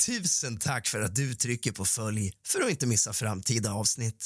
Tusen tack för att du trycker på följ för att inte missa framtida avsnitt.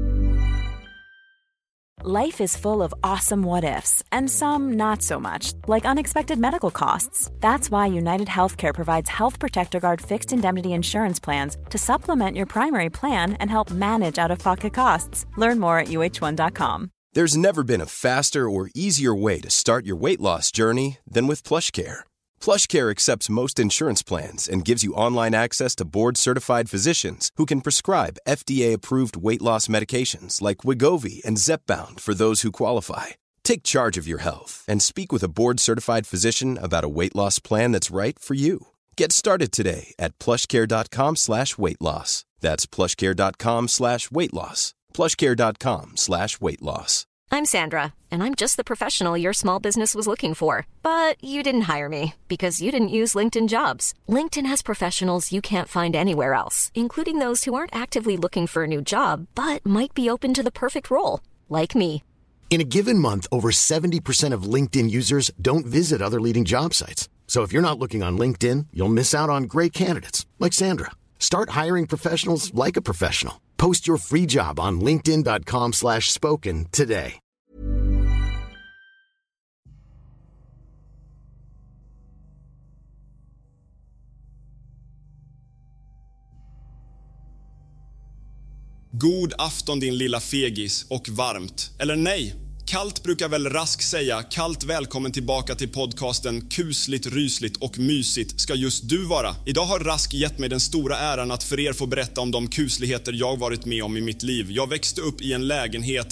Life is full of awesome what-ifs, and some not so much, like unexpected medical costs. That's why United Healthcare provides Health Protector Guard fixed indemnity insurance plans to supplement your primary plan and help manage out-of-pocket costs. Learn more at uh1.com. There's never been a faster or easier way to start your weight loss journey than with PlushCare. PlushCare accepts most insurance plans and gives you online access to board-certified physicians who can prescribe FDA-approved weight loss medications like Wegovy and Zepbound for those who qualify. Take charge of your health and speak with a board-certified physician about a weight loss plan that's right for you. Get started today at plushcare.com/weightloss. That's plushcare.com/weightloss. plushcare.com/weightloss. I'm Sandra, and I'm just the professional your small business was looking for. But you didn't hire me because you didn't use LinkedIn Jobs. LinkedIn has professionals you can't find anywhere else, including those who aren't actively looking for a new job, but might be open to the perfect role, like me. In a given month, over 70% of LinkedIn users don't visit other leading job sites. So if you're not looking on LinkedIn, you'll miss out on great candidates, like Sandra. Start hiring professionals like a professional. Post your free job on linkedin.com/spoken today. God afton din lilla fegis, och varmt. Eller nej, kallt brukar väl Rask säga. Kallt välkommen tillbaka till podcasten Kusligt, rysligt och mysigt ska just du vara. Idag har Rask gett mig den stora äran att för er få berätta om de kusligheter jag varit med om i mitt liv. Jag växte upp i en lägenhet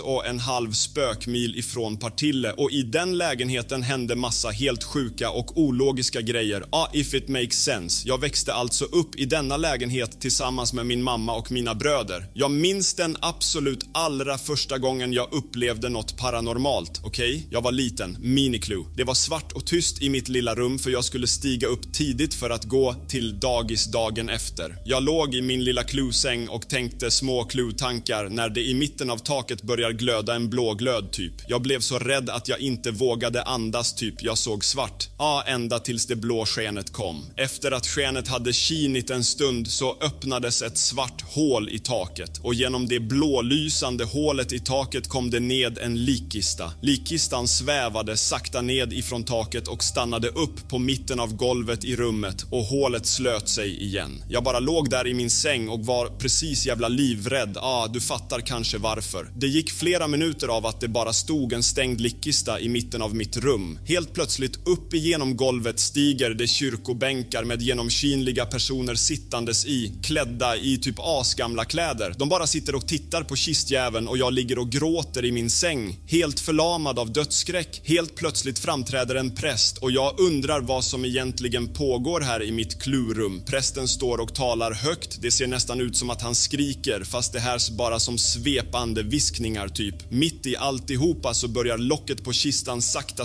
1,5 spökmil ifrån Partille, och i den lägenheten hände massa helt sjuka och ologiska grejer. If it makes sense. Jag växte alltså upp i denna lägenhet tillsammans med min mamma och mina bröder. Jag minns den absolut allra första gången jag upplevde något paranormalt, okej? Jag var liten, miniclue. Det var svart och tyst i mitt lilla rum för jag skulle stiga upp tidigt för att gå till dagis dagen efter. Jag låg i min lilla cluesäng och tänkte små clue-tankar när det i mitten av taket börjar glöda en blå glöd typ. Jag blev så rädd att jag inte vågade andas typ. Jag såg svart. Ända tills det blå skenet kom. Efter att skenet hade skinit en stund så öppnades ett svart hål i taket, och genom det blålysande hålet i taket kom det ned en likkista. Likkistan svävade sakta ned ifrån taket och stannade upp på mitten av golvet i rummet, och hålet slöt sig igen. Jag bara låg där i min säng och var precis jävla livrädd. Du fattar kanske varför. Det gick flera minuter av att det bara stod en stängd likkista i mitten av mitt rum. Helt plötsligt upp igenom golvet stiger det kyrkobänkar med genomskinliga personer sittandes i, klädda i typ asgamla kläder. De bara sitter och tittar på kistjäveln, och jag ligger och gråter i min säng, helt förlamad av dödsskräck. Helt plötsligt framträder en präst, och jag undrar vad som egentligen pågår här i mitt klurum. Prästen står och talar högt. Det ser nästan ut som att han skriker, fast det här bara som svepande viskningar typ. Mitt i alltihopa så börjar locket på kistan sakta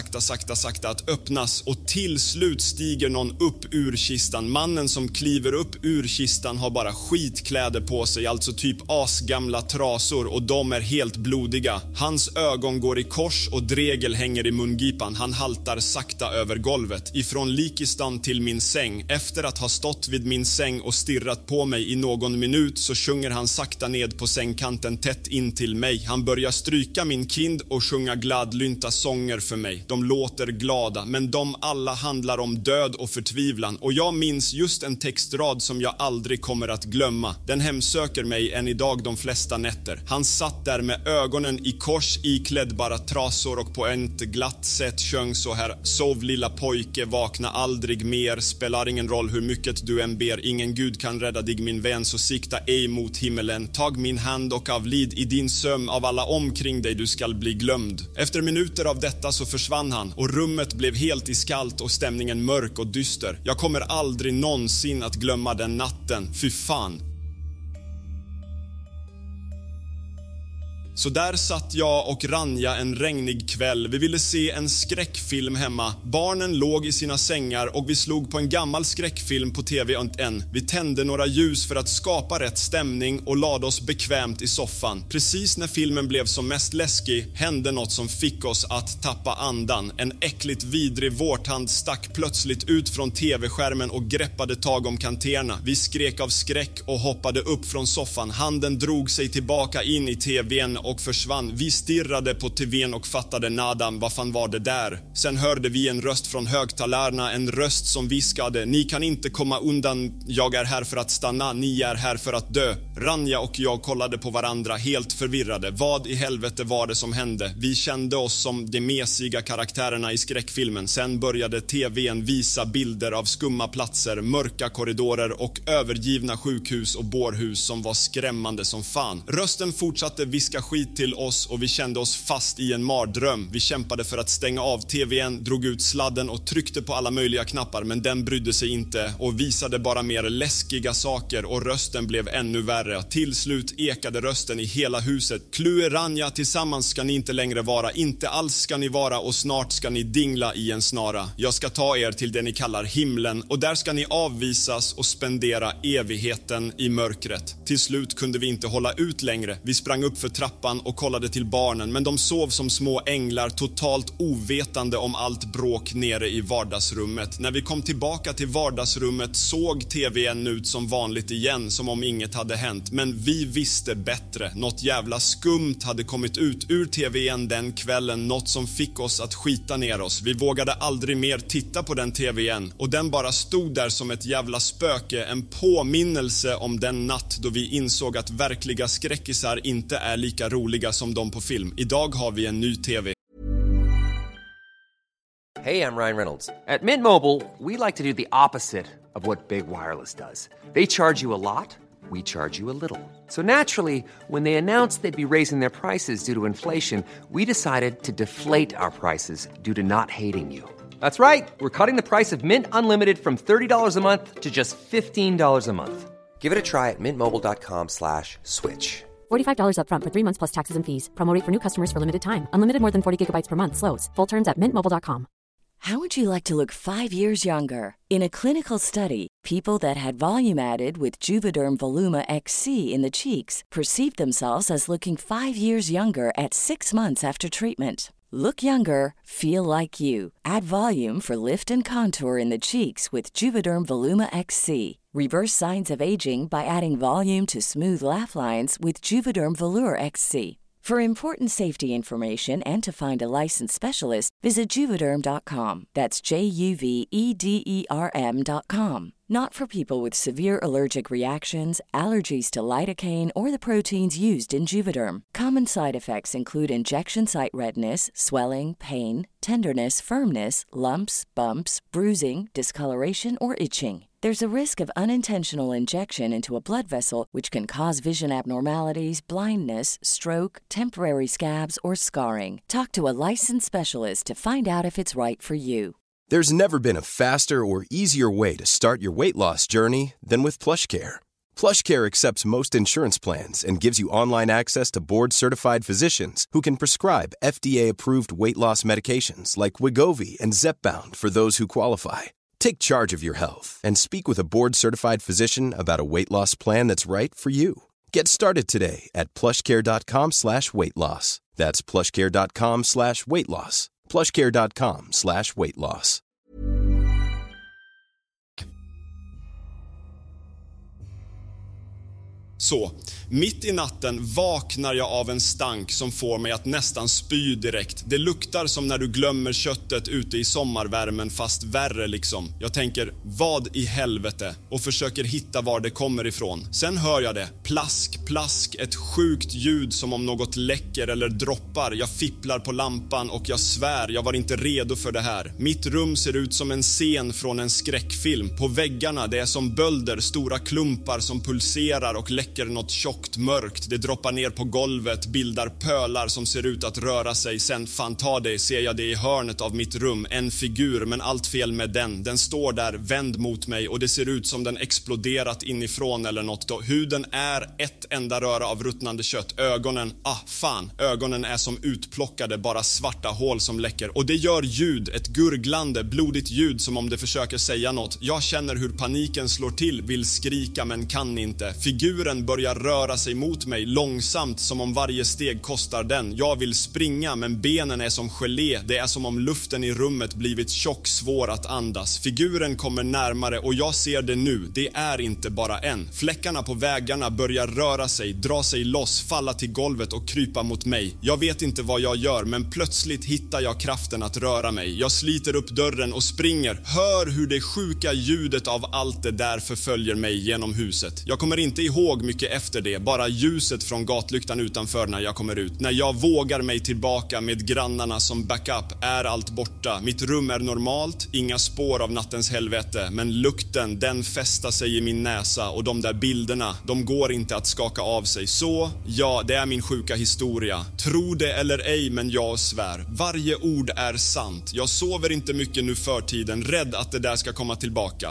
att öppnas, och till slut stiger någon upp ur kistan. Mannen som kliver upp ur kistan har bara skitkläder på sig, alltså typ asgamla trasor, och de är helt blodiga. Hans ögon går i kors och dregel hänger i mungipan. Han haltar sakta över golvet ifrån likistan till min säng. Efter att ha stått vid min säng och stirrat på mig i någon minut så sjunger han sakta ned på sängkanten tätt in till mig. Han börjar stryka min kind och sjunga gladlynta sånger för mig. De låter glada, men de alla handlar om död och förtvivlan, och jag minns just en textrad som jag aldrig kommer att glömma. Den hemsöker mig än idag de flesta nätter. Han satt där med ögonen i kors, iklädd bara trasor, och på ett glatt sätt sjöng så här: sov lilla pojke, vakna aldrig mer, spelar ingen roll hur mycket du än ber, ingen gud kan rädda dig min vän, så sikta ej mot himmelen, tag min hand och avlid i din sömn, av alla omkring dig du skall bli glömd. Efter minuter av detta så försvann han, och rummet blev helt iskallt och stämningen mörk och dyster. Jag kommer aldrig någonsin att glömma den natten, fy fan. Så där satt jag och Ranja en regnig kväll. Vi ville se en skräckfilm hemma. Barnen låg i sina sängar och vi slog på en gammal skräckfilm på TV1. Vi tände några ljus för att skapa rätt stämning och lade oss bekvämt i soffan. Precis när filmen blev som mest läskig hände något som fick oss att tappa andan. En äckligt vidrig vårthand stack plötsligt ut från TV-skärmen och greppade tag om kanterna. Vi skrek av skräck och hoppade upp från soffan. Handen drog sig tillbaka in i TV:n och försvann. Vi stirrade på TV:n och fattade nadan, vad fan var det där? Sen hörde vi en röst från högtalarna, en röst som viskade: ni kan inte komma undan, jag är här för att stanna, ni är här för att dö. Ranja och jag kollade på varandra helt förvirrade. Vad i helvete var det som hände? Vi kände oss som de mesiga karaktärerna i skräckfilmen. Sen började TV:n visa bilder av skumma platser, mörka korridorer och övergivna sjukhus och bårhus som var skrämmande som fan. Rösten fortsatte viska skit till oss och vi kände oss fast i en mardröm. Vi kämpade för att stänga av TV:n, drog ut sladden och tryckte på alla möjliga knappar, men den brydde sig inte och visade bara mer läskiga saker och rösten blev ännu värre. Till slut ekade rösten i hela huset: Klue Ranja, tillsammans ska ni inte längre vara, inte alls ska ni vara och snart ska ni dingla i en snara. Jag ska ta er till det ni kallar himlen och där ska ni avvisas och spendera evigheten i mörkret. Till slut kunde vi inte hålla ut längre. Vi sprang upp för trappan och kollade till barnen, men de sov som små änglar, totalt ovetande om allt bråk nere i vardagsrummet. När vi kom tillbaka till vardagsrummet såg TV:n ut som vanligt igen, som om inget hade hänt. Men vi visste bättre. Något jävla skumt hade kommit ut ur TV:n den kvällen, något som fick oss att skita ner oss. Vi vågade aldrig mer titta på den TV:n och den bara stod där som ett jävla spöke, en påminnelse om den natt då vi insåg att verkliga skräckisar inte är lika roliga som de på film. Idag har vi en ny TV. Hey, I'm Ryan Reynolds. At Mint Mobile, we like to do the opposite of what Big Wireless does. They charge you a lot, we charge you a little. So naturally, when they announced they'd be raising their prices due to inflation, we decided to deflate our prices due to not hating you. That's right. We're cutting the price of Mint Unlimited from $30 a month to just $15 a month. Give it a try at mintmobile.com/switch. $45 up front for 3 months plus taxes and fees. Promo rate for new customers for limited time. Unlimited more than 40 gigabytes per month slows. Full terms at mintmobile.com. How would you like to look 5 years younger? In a clinical study, people that had volume added with Juvederm Voluma XC in the cheeks perceived themselves as looking 5 years younger at 6 months after treatment. Look younger, feel like you. Add volume for lift and contour in the cheeks with Juvederm Voluma XC. Reverse signs of aging by adding volume to smooth laugh lines with Juvederm Volure XC. For important safety information and to find a licensed specialist, visit Juvederm.com. That's JUVEDERM.com. Not for people with severe allergic reactions, allergies to lidocaine, or the proteins used in Juvederm. Common side effects include injection site redness, swelling, pain, tenderness, firmness, lumps, bumps, bruising, discoloration, or itching. There's a risk of unintentional injection into a blood vessel, which can cause vision abnormalities, blindness, stroke, temporary scabs, or scarring. Talk to a licensed specialist to find out if it's right for you. There's never been a faster or easier way to start your weight loss journey than with PlushCare. PlushCare accepts most insurance plans and gives you online access to board-certified physicians who can prescribe FDA-approved weight loss medications like Wegovy and Zepbound for those who qualify. Take charge of your health and speak with a board-certified physician about a weight loss plan that's right for you. Get started today at plushcare.com/weightloss. That's plushcare.com/weightloss. plushcare.com/weightloss. Så, mitt i natten vaknar jag av en stank som får mig att nästan spy direkt. Det luktar som när du glömmer köttet ute i sommarvärmen, fast värre liksom. Jag tänker, vad i helvete? Och försöker hitta var det kommer ifrån. Sen hör jag det. Plask, plask, ett sjukt ljud som om något läcker eller droppar. Jag fipplar på lampan och jag svär, jag var inte redo för det här. Mitt rum ser ut som en scen från en skräckfilm. På väggarna, det är som bölder, stora klumpar som pulserar och läcker något tjockt mörkt. snabbt. Det droppar ner på golvet, bildar pölar som ser ut att röra sig. Sen, fan ta det, ser jag det i hörnet av mitt rum. En figur, men allt fel med den. Den står där, vänd mot mig och det ser ut som den exploderat inifrån eller något. Då huden är ett enda röra av ruttnande kött. Ögonen, ögonen är som utplockade, bara svarta hål som läcker. Och det gör ljud, ett gurglande, blodigt ljud som om det försöker säga något. Jag känner hur paniken slår till, vill skrika men kan inte. Figuren börjar röra sig mot mig långsamt som om varje steg kostar den. Jag vill springa men benen är som gelé. Det är som om luften i rummet blivit tjock, svår att andas. Figuren kommer närmare och jag ser det nu. Det är inte bara en. Fläckarna på väggarna börjar röra sig, dra sig loss, falla till golvet och krypa mot mig. Jag vet inte vad jag gör men plötsligt hittar jag kraften att röra mig. Jag sliter upp dörren och springer. Hör hur det sjuka ljudet av allt det där förföljer mig genom huset. Jag kommer inte ihåg mycket efter det, bara ljuset från gatlyktan utanför när jag kommer ut. När jag vågar mig tillbaka med grannarna som backup är allt borta. Mitt rum är normalt, inga spår av nattens helvete, men lukten, den fästar sig i min näsa och de där bilderna, de går inte att skaka av sig. Så, ja, det är min sjuka historia. Tro det eller ej, men jag svär. Varje ord är sant. Jag sover inte mycket nu för tiden, rädd att det där ska komma tillbaka.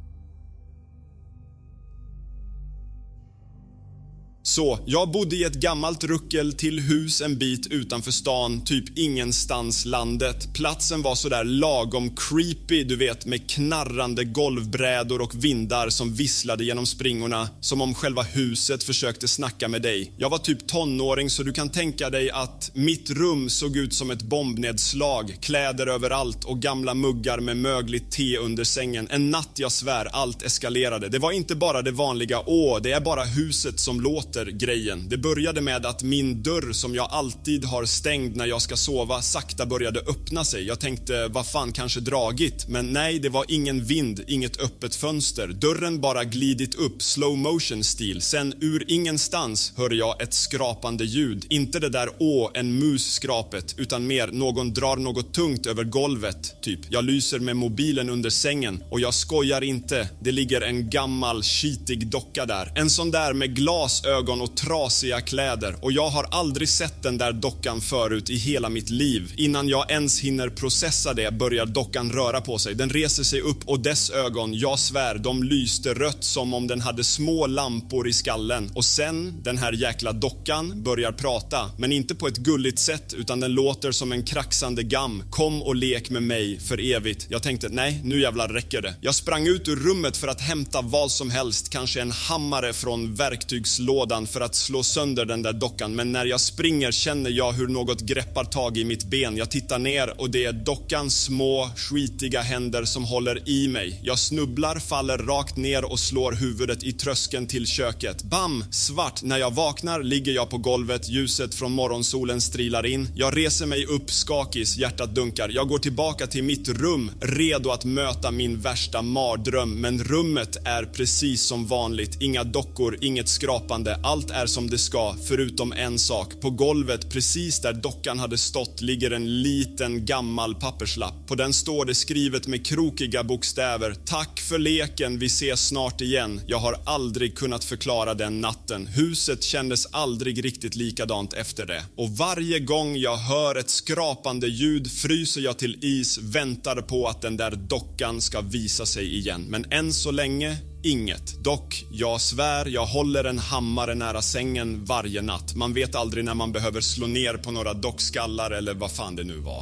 Så, jag bodde i ett gammalt ruckel till hus en bit utanför stan, typ ingenstans landet. Platsen var så där lagom creepy, du vet, med knarrande golvbrädor och vindar som visslade genom springorna, som om själva huset försökte snacka med dig. Jag var typ tonåring så du kan tänka dig att mitt rum såg ut som ett bombnedslag, kläder överallt och gamla muggar med mögligt te under sängen. En natt, jag svär, allt eskalerade. Det var inte bara det vanliga, det är bara huset som låter grejen. Det började med att min dörr som jag alltid har stängd när jag ska sova sakta började öppna sig. Jag tänkte, vad fan, kanske dragit. Men nej, det var ingen vind, inget öppet fönster. Dörren bara glidit upp, slow motion stil. Sen ur ingenstans hör jag ett skrapande ljud. Inte det där en mus-skrapet, utan mer någon drar något tungt över golvet. Typ, jag lyser med mobilen under sängen och jag skojar inte. Det ligger en gammal, skitig docka där. En sån där med glasögon och trasiga kläder och jag har aldrig sett den där dockan förut i hela mitt liv. Innan jag ens hinner processa det börjar dockan röra på sig. Den reser sig upp och dess ögon, jag svär, de lyste rött som om den hade små lampor i skallen. Och sen, den här jäkla dockan börjar prata, men inte på ett gulligt sätt utan den låter som en kraxande gam. Kom och lek med mig för evigt. Jag tänkte, nej, nu jävlar räcker det. Jag sprang ut ur rummet för att hämta vad som helst, kanske en hammare från verktygslådan för att slå sönder den där dockan, men när jag springer känner jag hur något greppar tag i mitt ben. Jag tittar ner och det är dockans små, skitiga händer som håller i mig. Jag snubblar, faller rakt ner och slår huvudet i tröskeln till köket. Bam! Svart. När jag vaknar ligger jag på golvet, ljuset från morgonsolen strilar in. Jag reser mig upp, skakis, hjärtat dunkar. Jag går tillbaka till mitt rum, redo att möta min värsta mardröm, men rummet är precis som vanligt. Inga dockor, inget skrapande. Allt är som det ska, förutom en sak. På golvet, precis där dockan hade stått, ligger en liten gammal papperslapp. På den står det skrivet med krokiga bokstäver: tack för leken, vi ses snart igen. Jag har aldrig kunnat förklara den natten. Huset kändes aldrig riktigt likadant efter det. Och varje gång jag hör ett skrapande ljud fryser jag till is, väntar på att den där dockan ska visa sig igen. Men än så länge inget. Dock, jag svär, jag håller en hammare nära sängen varje natt. Man vet aldrig när man behöver slå ner på några dockskallar eller vad fan det nu var.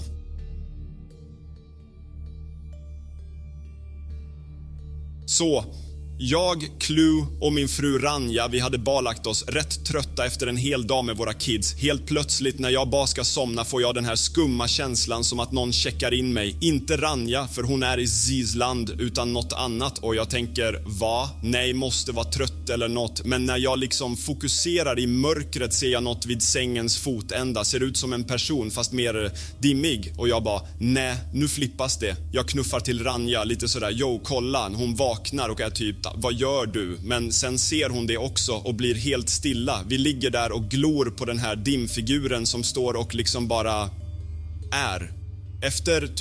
Så, jag, Clue och min fru Ranja, vi hade balagt oss rätt trötta efter en hel dag med våra kids. Helt plötsligt när jag bara ska somna får jag den här skumma känslan som att någon checkar in mig. Inte Ranja, för hon är i Zisland, utan något annat. Och jag tänker, va? Nej, måste vara trött eller något. Men när jag liksom fokuserar i mörkret ser jag något vid sängens fotända. Ser ut som en person, fast mer dimmig. Och jag bara, nej, nu flippas det. Jag knuffar till Ranja lite sådär, jo, kolla. Hon vaknar och är typ, vad gör du? Men sen ser hon det också och blir helt stilla. Vi ligger där och glor på den här dimfiguren som står och liksom bara är. Efter typ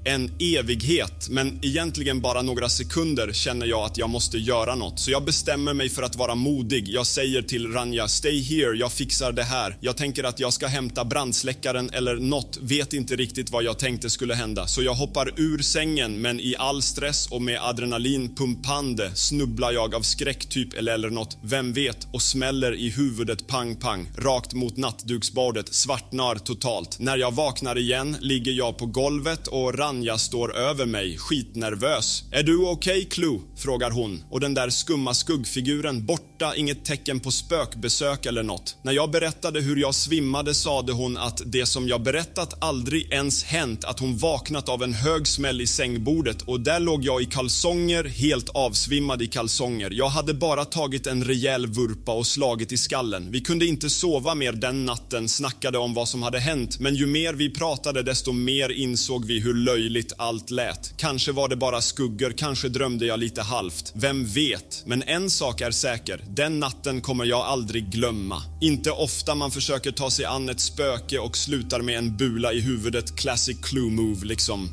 en evighet, men egentligen bara några sekunder känner jag att jag måste göra något. Så jag bestämmer mig för att vara modig. Jag säger till Rania, stay here, jag fixar det här. Jag tänker att jag ska hämta brandsläckaren eller något, vet inte riktigt vad jag tänkte skulle hända. Så jag hoppar ur sängen, men i all stress och med adrenalin pumpande snubblar jag av skräck typ eller något, vem vet, och smäller i huvudet pang pang, rakt mot nattduksbordet, svartnar totalt. När jag vaknar igen ligger jag på golvet och Ranja står över mig, skitnervös. Är du okej, Clue? Frågar hon. Och den där skumma skuggfiguren borta, inget tecken på spökbesök eller något. När jag berättade hur jag svimmade sade hon att det som jag berättat aldrig ens hänt, att hon vaknat av en hög smäll i sängbordet och där låg jag i kalsonger, helt avsvimmad i kalsonger. Jag hade bara tagit en rejäl vurpa och slagit i skallen. Vi kunde inte sova mer den natten, snackade om vad som hade hänt, men ju mer vi pratade desto mer insåg vi hur löjligt allt lät. Kanske var det bara skuggor, kanske drömde jag lite halvt. Vem vet? Men en sak är säker, den natten kommer jag aldrig glömma. Inte ofta man försöker ta sig an ett spöke och slutar med en bula i huvudet, classic Clue move liksom.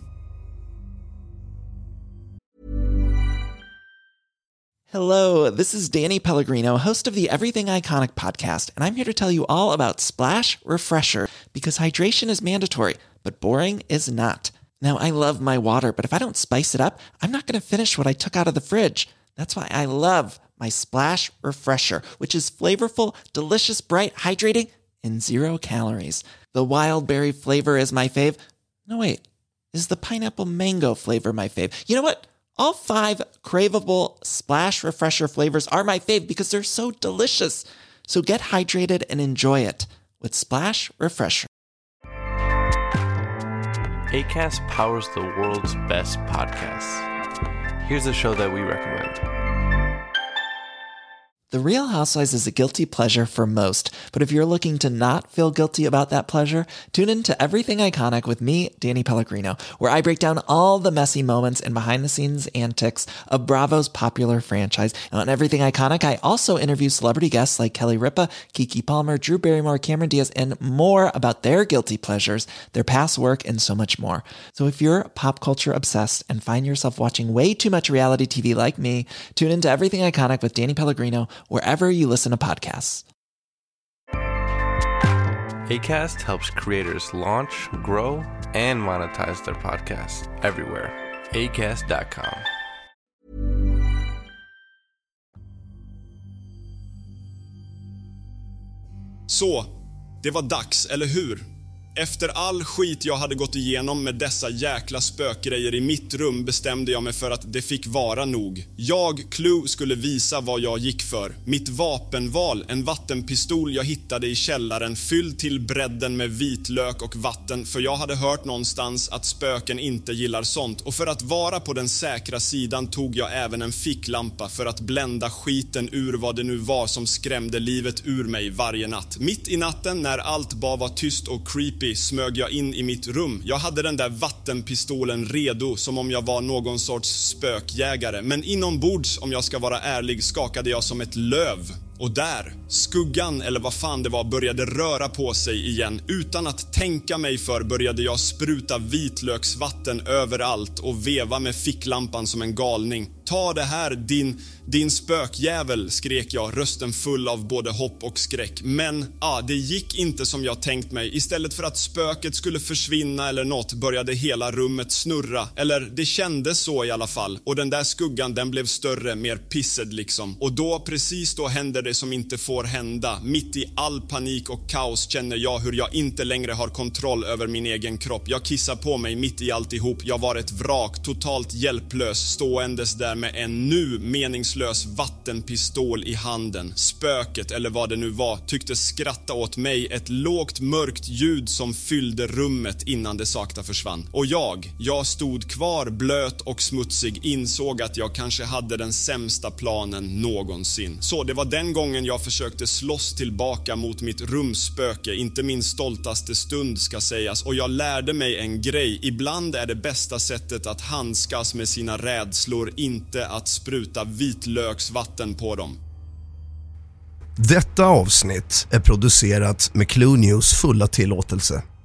Hello, this is Danny Pellegrino, host of the Everything Iconic podcast, and I'm here to tell you all about Splash Refresher, because hydration is mandatory, but boring is not. Now, I love my water, but if I don't spice it up, I'm not going to finish what I took out of the fridge. That's why I love my Splash Refresher, which is flavorful, delicious, bright, hydrating, and 0 calories. The wild berry flavor is my fave. No, wait, is the pineapple mango flavor my fave? You know what? All 5 craveable Splash Refresher flavors are my fave because they're so delicious. So get hydrated and enjoy it with Splash Refresher. Acast powers the world's best podcasts. Here's a show that we recommend. The Real Housewives is a guilty pleasure for most, but if you're looking to not feel guilty about that pleasure, tune in to Everything Iconic with me, Danny Pellegrino, where I break down all the messy moments and behind-the-scenes antics of Bravo's popular franchise. And on Everything Iconic, I also interview celebrity guests like Kelly Ripa, Keke Palmer, Drew Barrymore, Cameron Diaz, and more about their guilty pleasures, their past work, and so much more. So if you're pop culture obsessed and find yourself watching way too much reality TV like me, tune into Everything Iconic with Danny Pellegrino, wherever you listen to podcasts. Acast helps creators launch, grow, and monetize their podcasts everywhere. Acast.com. Så, det var dags, eller hur? Efter all skit jag hade gått igenom med dessa jäkla spökgrejer i mitt rum bestämde jag mig för att det fick vara nog. Jag, Clue, skulle visa vad jag gick för. Mitt vapenval, en vattenpistol jag hittade i källaren fylld till bredden med vitlök och vatten, för jag hade hört någonstans att spöken inte gillar sånt. Och för att vara på den säkra sidan tog jag även en ficklampa för att blända skiten ur vad det nu var som skrämde livet ur mig varje natt. Mitt i natten när allt bara var tyst och creepy smög jag in i mitt rum. Jag hade den där vattenpistolen redo som om jag var någon sorts spökjägare. Men inombords, om jag ska vara ärlig, skakade jag som ett löv. Och där, skuggan eller vad fan det var började röra på sig igen. Utan att tänka mig för började jag spruta vitlöksvatten överallt och veva med ficklampan som en galning. Ta det här, din spökjävel, skrek jag, rösten full av både hopp och skräck. Men, det gick inte som jag tänkt mig. Istället för att spöket skulle försvinna eller något började hela rummet snurra. Eller det kändes så i alla fall. Och den där skuggan, den blev större, mer pissed liksom. Och då, precis då hände det som inte får hända. Mitt i all panik och kaos känner jag hur jag inte längre har kontroll över min egen kropp. Jag kissar på mig mitt i alltihop. Jag var ett vrak, totalt hjälplös, ståendes där med en nu meningslös vattenpistol i handen. Spöket, eller vad det nu var, tyckte skratta åt mig, ett lågt mörkt ljud som fyllde rummet innan det sakta försvann. Och jag stod kvar blöt och smutsig, insåg att jag kanske hade den sämsta planen någonsin. Så det var den gången jag försökte slåss tillbaka mot mitt rumsspöke, inte min stoltaste stund ska sägas, och jag lärde mig en grej. Ibland är det bästa sättet att handskas med sina rädslor inte att spruta vitlöksvatten på dem. Detta avsnitt är producerat med Clue News fulla tillåtelse.